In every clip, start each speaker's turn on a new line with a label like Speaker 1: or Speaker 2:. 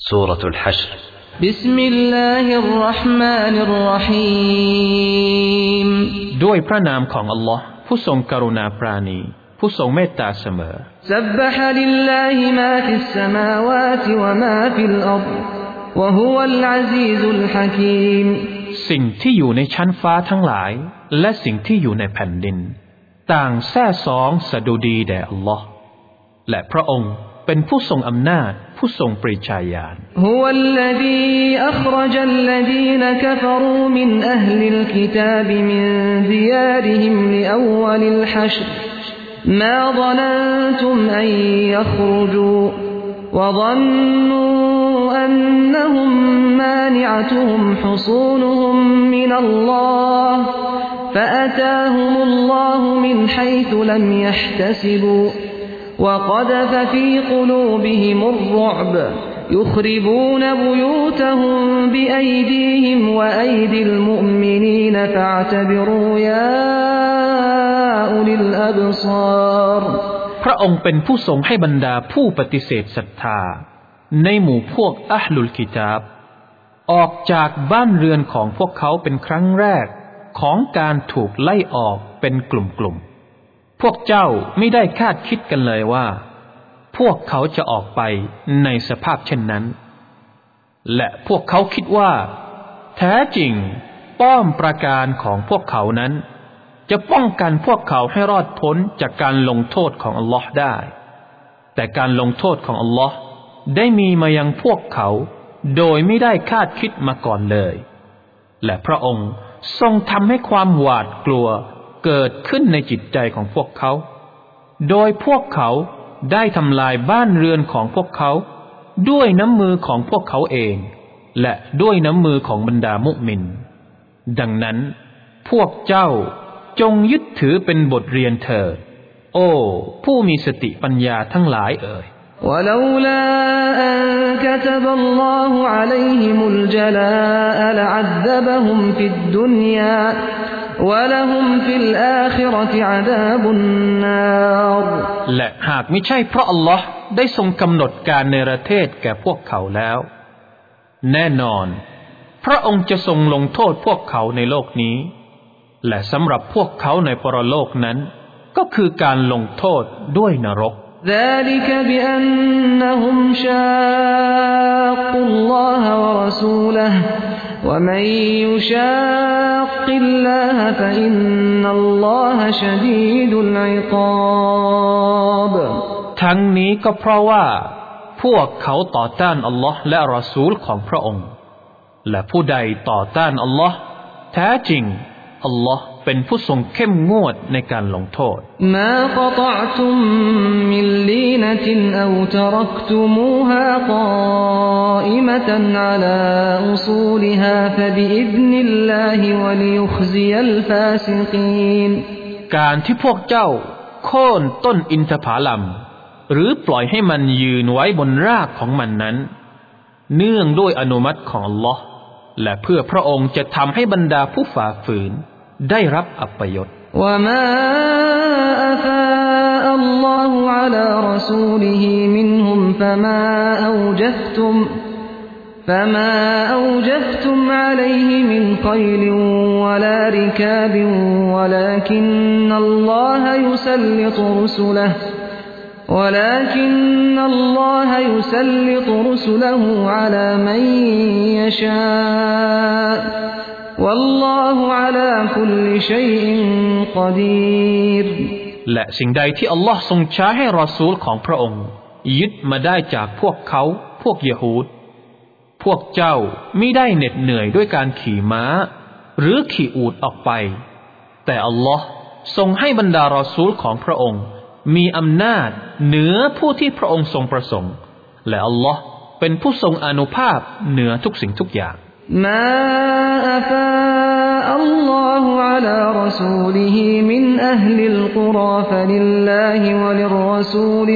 Speaker 1: سورة الحشر
Speaker 2: بسم الله الرحمن الرحيم
Speaker 3: ด้วยพระนามของอัลลอฮ์ผู้ทรงกรุณาปราณีผู้ทรงเมตตาเสมอ
Speaker 2: سبح لله ما في السماوات وما في الأرض وهو العزيز الحكيم
Speaker 3: สิ่งที่อยู่ในชั้นฟ้าทั้งหลายและสิ่งที่อยู่ในแผ่นดินต่างแท้ซองสดุดีแด่อัลลอฮ์และพระองค์เป็นผู้ทรงอำนาจผู้ทรงปริชาญาณ
Speaker 2: هو الذي أخرج الذين كفروا من أهل الكتاب من ديارهم لأول الحشر ما ظننتم أن يخرجوا وظنوا أنهم مانعتهم حصونهم من الله فأتاهم الله من حيث لم يحتسبوا وقذف في قلوبهم الرعب يخربون بيوتهم بأيديهم وأيدي المؤمنين فاعتبروا يا أولي الأبصار
Speaker 3: พระองค์เป็นผู้ทรงให้บรรดาผู้ปฏิเสธศรัทธาในหมู่พวกอะห์ลุลกิตาบออกจากบ้านเรือนของพวกเขาเป็นครั้งแรกของการถูกไล่ออกเป็นกลุ่มๆพวกเจ้าไม่ได้คาดคิดกันเลยว่าพวกเขาจะออกไปในสภาพเช่นนั้นและพวกเขาคิดว่าแท้จริงป้อมปราการของพวกเขานั้นจะป้องกันพวกเขาให้รอดพ้นจากการลงโทษของอัลลอฮ์ได้แต่การลงโทษของอัลลอฮ์ได้มีมายังพวกเขาโดยไม่ได้คาดคิดมาก่อนเลยและพระองค์ทรงทำให้ความหวาดกลัวเกิดขึ้นในจิตใจของพวกเขาโดยพวกเขาได้ทำลายบ้านเรือนของพวกเขาด้วยน้ำมือของพวกเขาเองและด้วยน้ำมือของบรรดามุมินดังนั้นพวกเจ้าจงยึดถือเป็นบทเรียนเถิดโอ้ผู้มีสติปัญญาทั้งหลายเอ่ย
Speaker 2: ولولا أن كتب الله عليهم الجلاء لعذبهم في الدنيا ولهم في الآخرة عذاب النار
Speaker 3: และหากไม่ใช่เพราะอัลลอฮ์ได้ทรงกำหนดการเนรเทศแก่พวกเขาแล้วแน่นอนพระองค์จะทรงลงโทษพวกเขาในโลกนี้และสำหรับพวกเขาในปรโลกนั้นก็คือการลงโทษด้วยนรก
Speaker 2: ذلك بأنهم شاقوا الله ورسوله ومن يشاق الله فإن الله شديد العقاب
Speaker 3: ทั้งนี้ก็เพราะว่าพวกเขาต่อต้านอัลลอฮ์และรอซูลของพระองค์และผู้ใดต่อต้านอัลลอฮ์แท้จริงอัลลอฮ์เป็นผู้ทรงเข้มงวดในการลงโทษ
Speaker 2: มาقطعتم من لينة أو تركتموها قائمة على أصولها فبإذن الله وليخزي الفاسقين
Speaker 3: การที่พวกเจ้าโค่นต้นอินทผลัมหรือปล่อยให้มันยืนไว้บนรากของมันนั้นเนื่องด้วยอนุมัติของอัลลอฮ์และเพื่อพระองค์จะทำให้บรรดาผู้ฝ่าฝืนได้รับอัปยศ
Speaker 2: وما أفاء الله على رسوله منهم فما أوجفتم عليه من خيل ولا ركاب ولكن الله يسلط رسله على من يشاء والله على كل شيء قدير
Speaker 3: และสิ่งใดที่อัลลอฮ์ทรงใช้ให้รอซูลของพระองค์ยึดมาได้จากพวกเขาพวกยิฮูดพวกเจ้ามิได้เหน็ดเหนื่อยด้วยการขี่ม้าหรือขี่อูฐออกไปแต่อัลลอฮ์ทรงให้บรรดารอซูลของพระองค์มีอำนาจเหนือผู้ที่พระองค์ทรงประสงค์และอัลลอฮ์เป็นผู้ทรงอานุภาพเหนือทุกสิ่งทุกอย่าง
Speaker 2: ما أفاء الله على رسوله من أهل القرى فلله وللرسول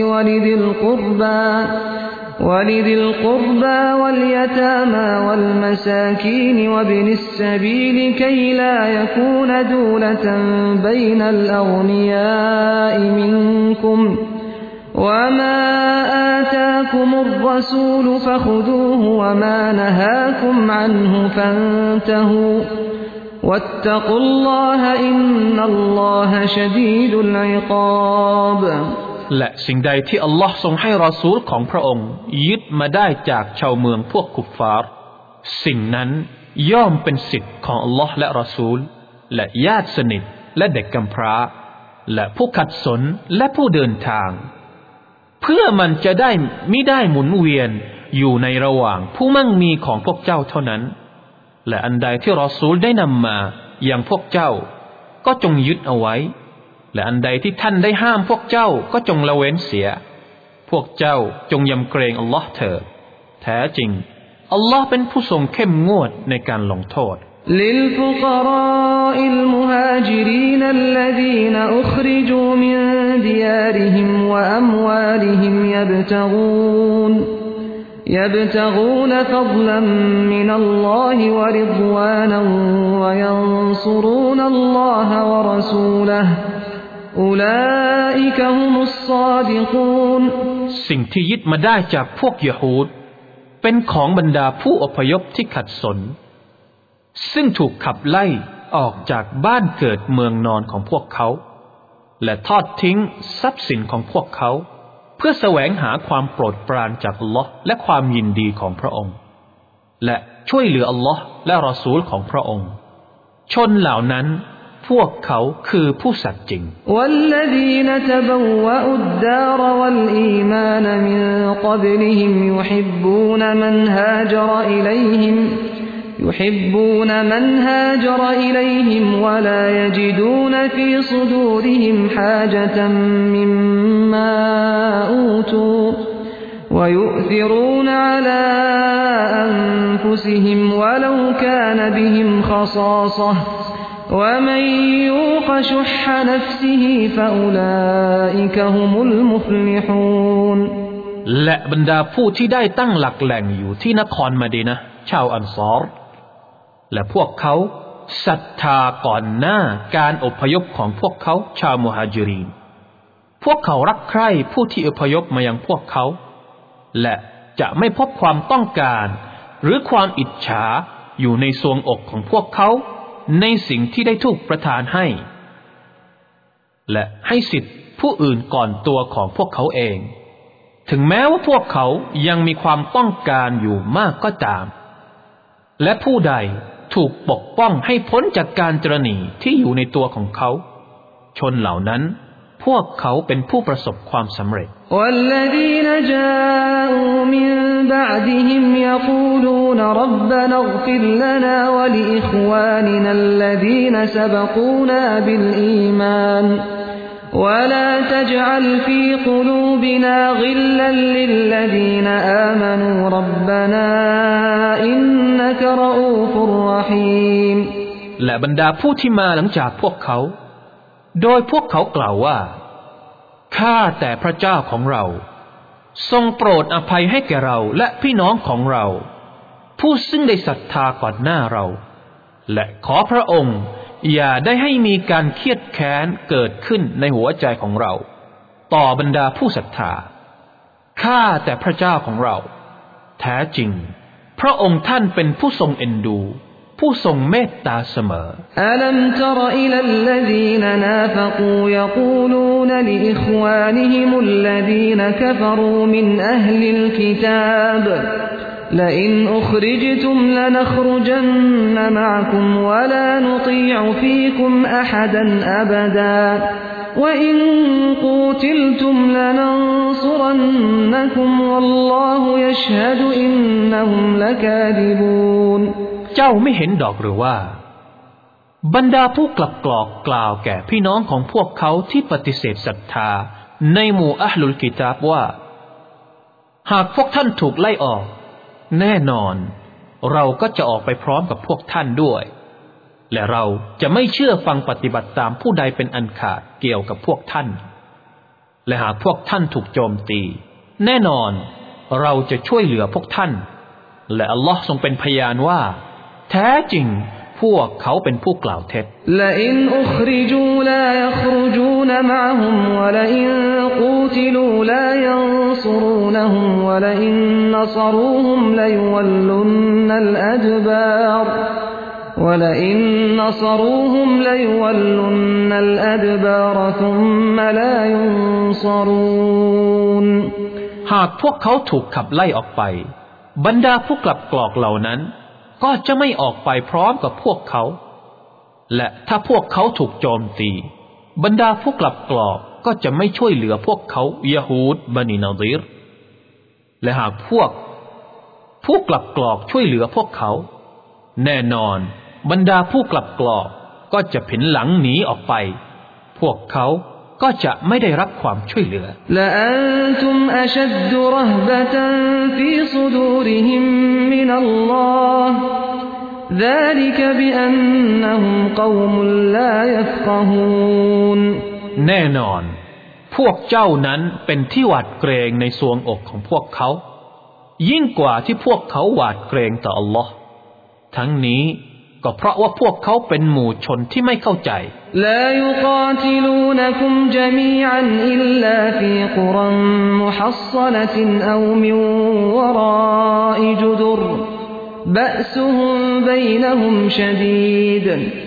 Speaker 2: ولذي القربى واليتامى والمساكين وابن السبيل كي لا يكون دولة بين الأغنياء منكم وما آتاكم الرسول فخذوه وما نهاكم عنه فانتهوا واتقوا الله إن الله شديد العقاب
Speaker 3: และสิ่งใดที่อัลลอฮ์ทรงให้รอซูลของพระองค์ยึดมาได้จากชาวเมืองพวกคุฟฟาร์สิ่งนั้นย่อมเป็นสิทธิ์ของอัลลอฮ์และรอซูลและญาติสนิทและเด็กกำพร้าและผู้ขัดสนและผู้เดินทางเพื่อมันจะได้มิได้หมุนเวียนอยู่ในระหว่างผู้มั่งมีของพวกเจ้าเท่านั้นและอันใดที่รอซูลได้นำมาอย่างพวกเจ้าก็จงยึดเอาไว้และอันใดที่ท่านได้ห้ามพวกเจ้าก็จงละเว้นเสียพวกเจ้าจงยำเกรงอัลลอฮ์เถิดแท้จริงอัลลอฮ์เป็นผู้ทรงเข้มงวดในการลงโทษ
Speaker 2: للفقراء المهاجرين الذين أخرجوا من ديارهم وأموالهم يبتغون فضلا من الله ورضوانا وينصرون الله ورسوله أولئك هم الصادقون
Speaker 3: สิ่งที่ยึดมาได้จากพวกยะฮูดเป็นของบรรดาผู้อพยพที่ขัดสนซึ่งถูกขับไล่ออกจากบ้านเกิดเมืองนอนของพวกเขาและทอดทิ้งทรัพย์สินของพวกเขาเพื่อแสวงหาความโปรดปรานจากอัลลอฮ์และความยินดีของพระองค์และช่วยเหลืออัลลอฮ์และรอซูลของพระองค์ชนเหล่านั้นพวกเขาคือผู้สัตย์จริง
Speaker 2: والذين تبوأوا الدار والإيمان من قبلهم يحبون من هاجر إليهم ولا يجدون في صدورهم حاجة مما أوتوا ويؤثرون على أنفسهم ولو كان بهم خصاصة ومن يوق شح نفسه فأولئك هم المفلحون
Speaker 3: และบรรดาผู้ที่ได้ตั้งหลักแหล่งอยู่ที่นครมะดีนะห์ชาวอันซอรและพวกเขาศรัทธาก่อนหน้าการอพยพของพวกเขาชาวมุฮาญิรีนพวกเขารักใคร่ผู้ที่อพยพมายังพวกเขาและจะไม่พบความต้องการหรือความอิจฉาอยู่ในทรวงอกของพวกเขาในสิ่งที่ได้ถูกประทานให้และให้สิทธิผู้อื่นก่อนตัวของพวกเขาเองถึงแม้ว่าพวกเขายังมีความต้องการอยู่มากก็ตามและผู้ใดถูกปกป้องให้พ้นจากการตระหนี่ที่อยู่ในตัวของเขาชนเหล่านั้นพวกเขาเป็นผู้ประสบความสำเร็จ
Speaker 2: والذين جاءوا من بعدهم يقولون ربنا اغفر لنا ولإخواننا الذين سبقونا بالإيمان ولا تجعل في قلوبنا غلا للذين آمنوا ربنا إنك رؤوف رحيم
Speaker 3: และบรรดาผู้ที่มาหลังจากพวกเขาโดยพวกเขากล่าวว่าข้าแต่พระเจ้าของเราทรงโปรดอภัยให้แก่เราและพี่น้องของเราผู้ซึ่งได้ศรัทธาก่อนหน้าเราและขอพระองค์อย่าได้ให้มีการเครียดแค้นเกิดขึ้นในหัวใจของเราต่อบรรดาผู้ศรัทธาข้าแต่พระเจ้าของเราแท้จริงพระองค์ท่านเป็นผู้ทรงเอ็นดูผู้ทรงเมตตาเสมอ
Speaker 2: อะลัมตรอิลัลลซีนนาฟกูยะกูลูนลิอิควานิฮิมุลลซีนกะฟรูมินอะฮลิลกิตาบلئن أخرجتم لنخرجن معكم ولا نطيع فيكم أحدا أبدا وإن قوتلتم لننصرنكم والله يشهد إنهم لكاذبون
Speaker 3: เจ้าไม่เห็นดอกหรือว่าบรรดาผู้กลับกล่าวแก่พี่น้องของพวกเขาที่ปฏิเสธศรัทธาในหมู่อะห์ลุลกิตาบว่าหากพวกท่านถูกไล่ออกแน่นอนเราก็จะออกไปพร้อมกับพวกท่านด้วยและเราจะไม่เชื่อฟังปฏิบัติตามผู้ใดเป็นอันขาดเกี่ยวกับพวกท่านและหากพวกท่านถูกโจมตีแน่นอนเราจะช่วยเหลือพวกท่านและอัลลอฮ์ทรงเป็นพยานว่าแท้จริงพวกเขาเป็นผู้กล่าวเท็จ
Speaker 2: لئن أخرجوا لا يخرجون معهم ولئن قوتلوا لا ينصرونهم ولئن نصروهم ليولن الأدبار ثم لا ينصرون
Speaker 3: หากพวกเขาถูกขับไล่ออกไปบรรดาผู้กลับกรอกเหล่านั้นก็จะไม่ออกไปพร้อมกับพวกเขาและถ้าพวกเขาถูกโจมตีบรรดาผู้กลับกรอกก็จะไม่ช่วยเหลือพวกเขายะฮูดบันินาดีรและหากพวกผู้กลับกรอกช่วยเหลือพวกเขาแน่นอนบรรดาผู้กลับกรอกก็จะผินหลังหนีออกไปพวกเขาก็จะไม่ได้รับความช่วยเหลือ
Speaker 2: ละอันตุมอชัดดุรห์บะตันฟีซุดูริฮิมมินัลลอฮ์ذلك بأنهم قوم لا يفقهون
Speaker 3: แน่นอนพวกเจ้านั้นเป็นที่หวาดเกรงในทรวงอกของพวกเขายิ่งกว่าที่พวกเขาหวาดเกรงต่ออัลลอฮ์ทั้งนี้ก็เพราะว่าพวกเขาเป็นหมู่ชนที่ไม่เข้าใจ
Speaker 2: لا يقاتلونكم جميعا إلا في قرى محصنة أو من وراء جدر بأسهم بينهم شديد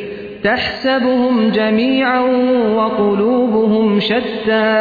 Speaker 2: تحسبهم جميعا وقلوبهم شتى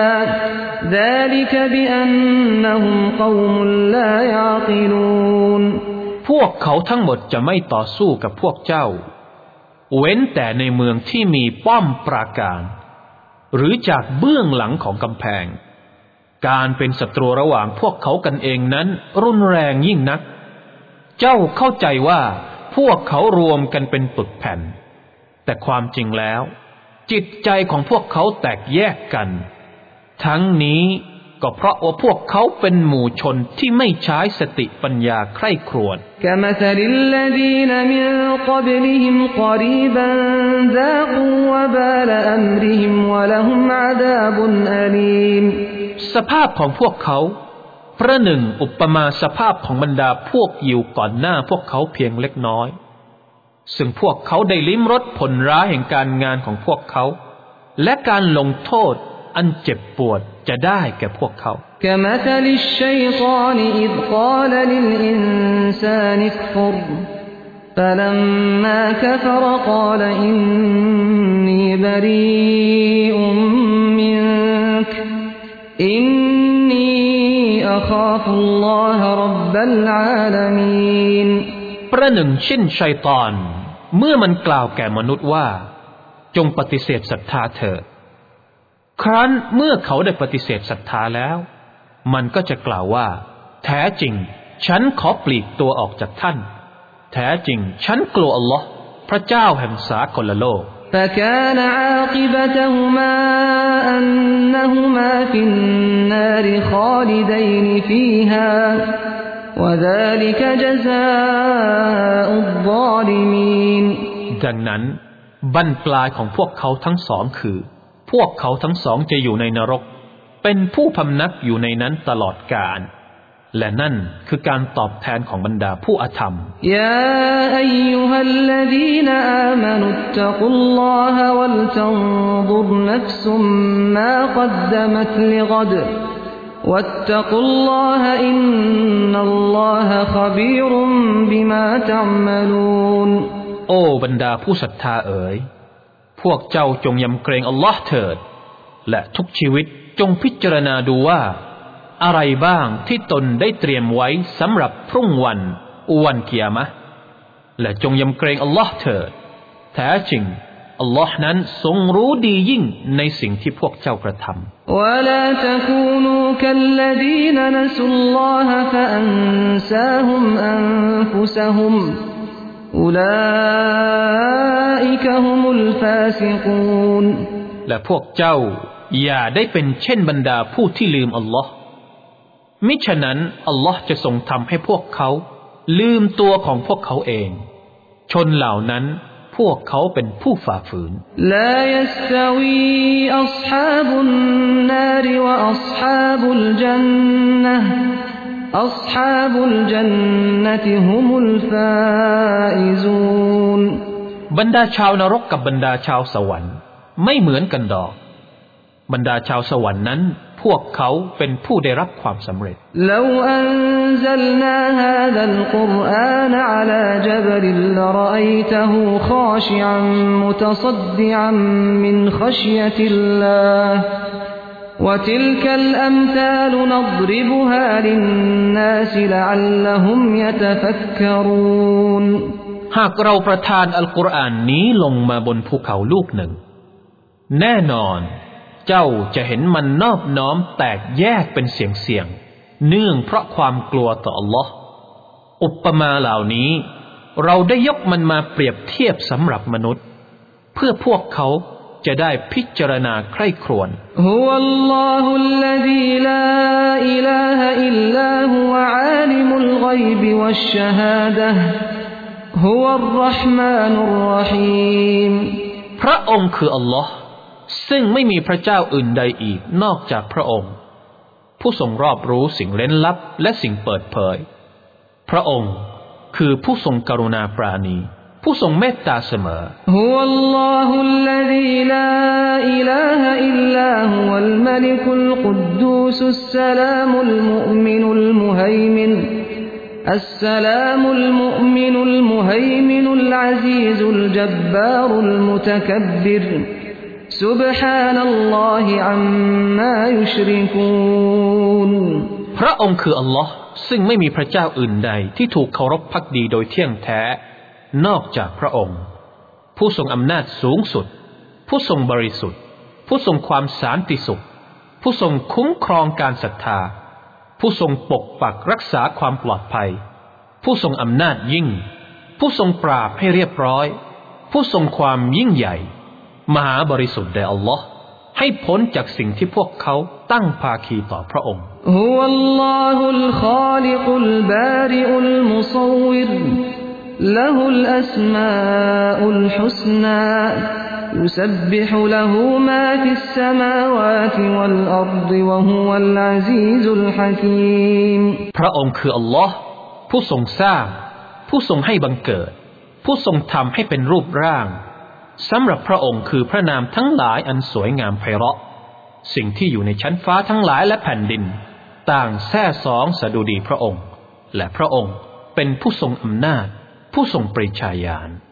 Speaker 2: ذلك بأنهم قوم لا يعقلون
Speaker 3: พวกเขาทั้งหมดจะไม่ต่อสู้กับพวกเจ้าเว้นแต่ในเมืองที่มีป้อมปราการหรือจากเบื้องหลังของกำแพงการเป็นศัตรูระหว่างพวกเขากันเองนั้นรุนแรงยิ่งนักเจ้าเข้าใจว่าพวกเขารวมกันเป็นปึกแผ่นแต่ความจริงแล้วจิตใจของพวกเขาแตกแยกกันทั้งนี้ก็เพราะว่าพวกเขาเป็นหมู่ชนที่ไม่ใช้สติปัญญาใคร่ครวญ
Speaker 2: كمثل الذين من قبلهم قريبا ذاقوا وبال أمرهم ولهم عذاب أليم
Speaker 3: สภาพของพวกเขาประหนึ่งอุปมาสภาพของบรรดาพวกยิวก่อนหน้าพวกเขาเพียงเล็กน้อยซึ่งพวกเขาได้ลิ้มรสผลร้ายแห่งการงานของพวกเขาและการลงโทษอันเจ็บปวดจะได้แก่พวกเขา
Speaker 2: كمثل الشيطان إذ قال للإنسان اكفر فلما كفر قال إني بريء منك إني أخاف الله رب العالمين
Speaker 3: ประหนึ่งเช่นชัยฏอนเมื่อมันกล่าวแก่มนุษย์ว่าจงปฏิเสธศรัทธาเถิดครั้นเมื่อเขาได้ปฏิเสธศรัทธาแล้วมันก็จะกล่าวว่าแท้จริงฉันขอปลีกตัวออกจากท่านแท้จริงฉันกลัวอัลลอฮ์พระเจ้าแห่งสากลโลก
Speaker 2: فكان عاقبتهما أنهما في النار خالدين فيها وذلك جزاء الظالمين
Speaker 3: ดังนั้นบั้นปลายของพวกเขาทั้งสองคือพวกเขาทั้งสองจะอยู่ในนรกเป็นผู้พำนักอยู่ในนั้นตลอดกาลและนั่นคือการตอบแทนของบรรดาผู้อธรรม
Speaker 2: ยาอัยยูฮัลลซีนอามานุตตะกุลลอฮะวัลตันซุรนัฟซุมมากัดดะมัตลิกดวัตตะกุลลอฮะอินนัลลอฮะคบีรุมบิมาตะอ์มะลูน
Speaker 3: โอ้บรรดาผู้ศรัทธาเอ๋ยพวกเจ้าจงยำเกรงอัลลอฮ์เถิดและทุกชีวิตจงพิจารณาดูว่าอะไรบ้างที่ตนได้เตรียมไว้สำหรับพรุ่งวันกิยามะห์และจงยำเกรงอัลลอฮ์เถิดแท้จริงอัลลอฮ์นั้นทรงรู้ดียิ่งในสิ่งที่พวกเจ้ากระทำ
Speaker 2: ولا تكونوا كالذين نسوا الله فأنساهم أنفسهم أولئك هم الفاسقون
Speaker 3: และพวกเจ้าอย่าได้เป็นเช่นบรรดาผู้ที่ลืมอัลลอฮ์มิฉะนั้นอัลลอฮ์จะทรงทำให้พวกเขาลืมตัวของพวกเขาเองชนเหล่านั้นพวกเขาเป็นผู้ฝ่าฝืน
Speaker 2: ลายัสตวีอัศฮาบุนนารวะอัศฮาบุลจันนะห์อัศฮาบุลจันนะติฮุมุลฟาอิซูน
Speaker 3: บรรดาชาวนรกกับบรรดาชาวสวรรค์ไม่เหมือนกันดอกบรรดาชาวสวรรค์นั้นพวกเขาเป็นผู้ได้รับความสำเร็จ
Speaker 2: لو أنزلنا هذا القرآن على جبل لرأيته خاشعا متصدعا من خشية الله وتلك الأمثال نضربها للناس لعلهم يتفكرون
Speaker 3: หากเราประทานอัลกุรอานนี้ลงมาบนภูเขาลูกหนึ่งแน่นอนเจ้าจะเห็นมันนอบน้อมแตกแยกเป็นเสียงเนื่องเพราะความกลัวต่ออัลลอฮ์อุปมาเหล่านี้เราได้ยกมันมาเปรียบเทียบสำหรับมนุษย์เพื่อพวกเขาจะได้พิจารณาใคร่ครวญ
Speaker 2: ฮุวัลลอฮุลลซีลาอิลาฮะอิลลาฮุวะอาลิมุลฆอยบิวัชชะฮาดะฮ์ฮุวัรเราะห์มานุรเราะฮีม
Speaker 3: พระองค์คืออัลลอฮ์ซึ่งไม่มีพระเจ้าอื่นใดอีกนอกจากพระองค์ผู้ทรงรอบรู้สิ่งเร้นลับและสิ่งเปิดเผยพระองค์คือผู้ทรงกรุณาปราณีผู้ทรงเมตตาเสมอ
Speaker 2: ฮุวัลลอฮุลลซีลาอิลาฮะอิลลาฮุวัลมะลิกุลกุดดูสุสสลามุลมุอ์มินุลมุฮัยมินالسلام المؤمن المهيمن العزيز الجبار المتكبر سبحان الله عما يشركون
Speaker 3: พระองค์คืออัลลอฮ์ซึ่งไม่มีพระเจ้าอื่นใดที่ถูกเคารพภักดีโดยเที่ยงแท้นอกจากพระองค์ผู้ทรงอำนาจสูงสุดผู้ทรงบริสุทธิ์ผู้ทรงความสันติสุขผู้ทรงคุ้มครองการศรัทธาผู้ทรงปกปักรักษาความปลอดภัยผู้ทรงอำนาจยิ่งผู้ทรงปราบให้เรียบร้อยผู้ทรงความยิ่งใหญ่มหาบริสุทธิ์แด่อัลลอฮ์ให้พ้นจากสิ่งที่พวกเขาตั้งภาคีต่อพระองค์
Speaker 2: ฮุวัลลอฮุลคอลิกุลบาริอุลมุศววิรละฮุลอัสมาอุลฮุสนาيسبح له ما في السماوات والأرض وهو العزيز الحكيم
Speaker 3: พระองค์คืออัลลอฮ์ผู้ทรงสร้างผู้ทรงให้บังเกิดผู้ทรงทำให้เป็นรูปร่างสำหรับพระองค์คือพระนามทั้งหลายอันสวยงามไพเราะสิ่งที่อยู่ในชั้นฟ้าทั้งหลายและแผ่นดินต่างแท้สองสดุดีพระองค์และพระองค์เป็นผู้ทรงอำนาจผู้ทรงปริชาญาณ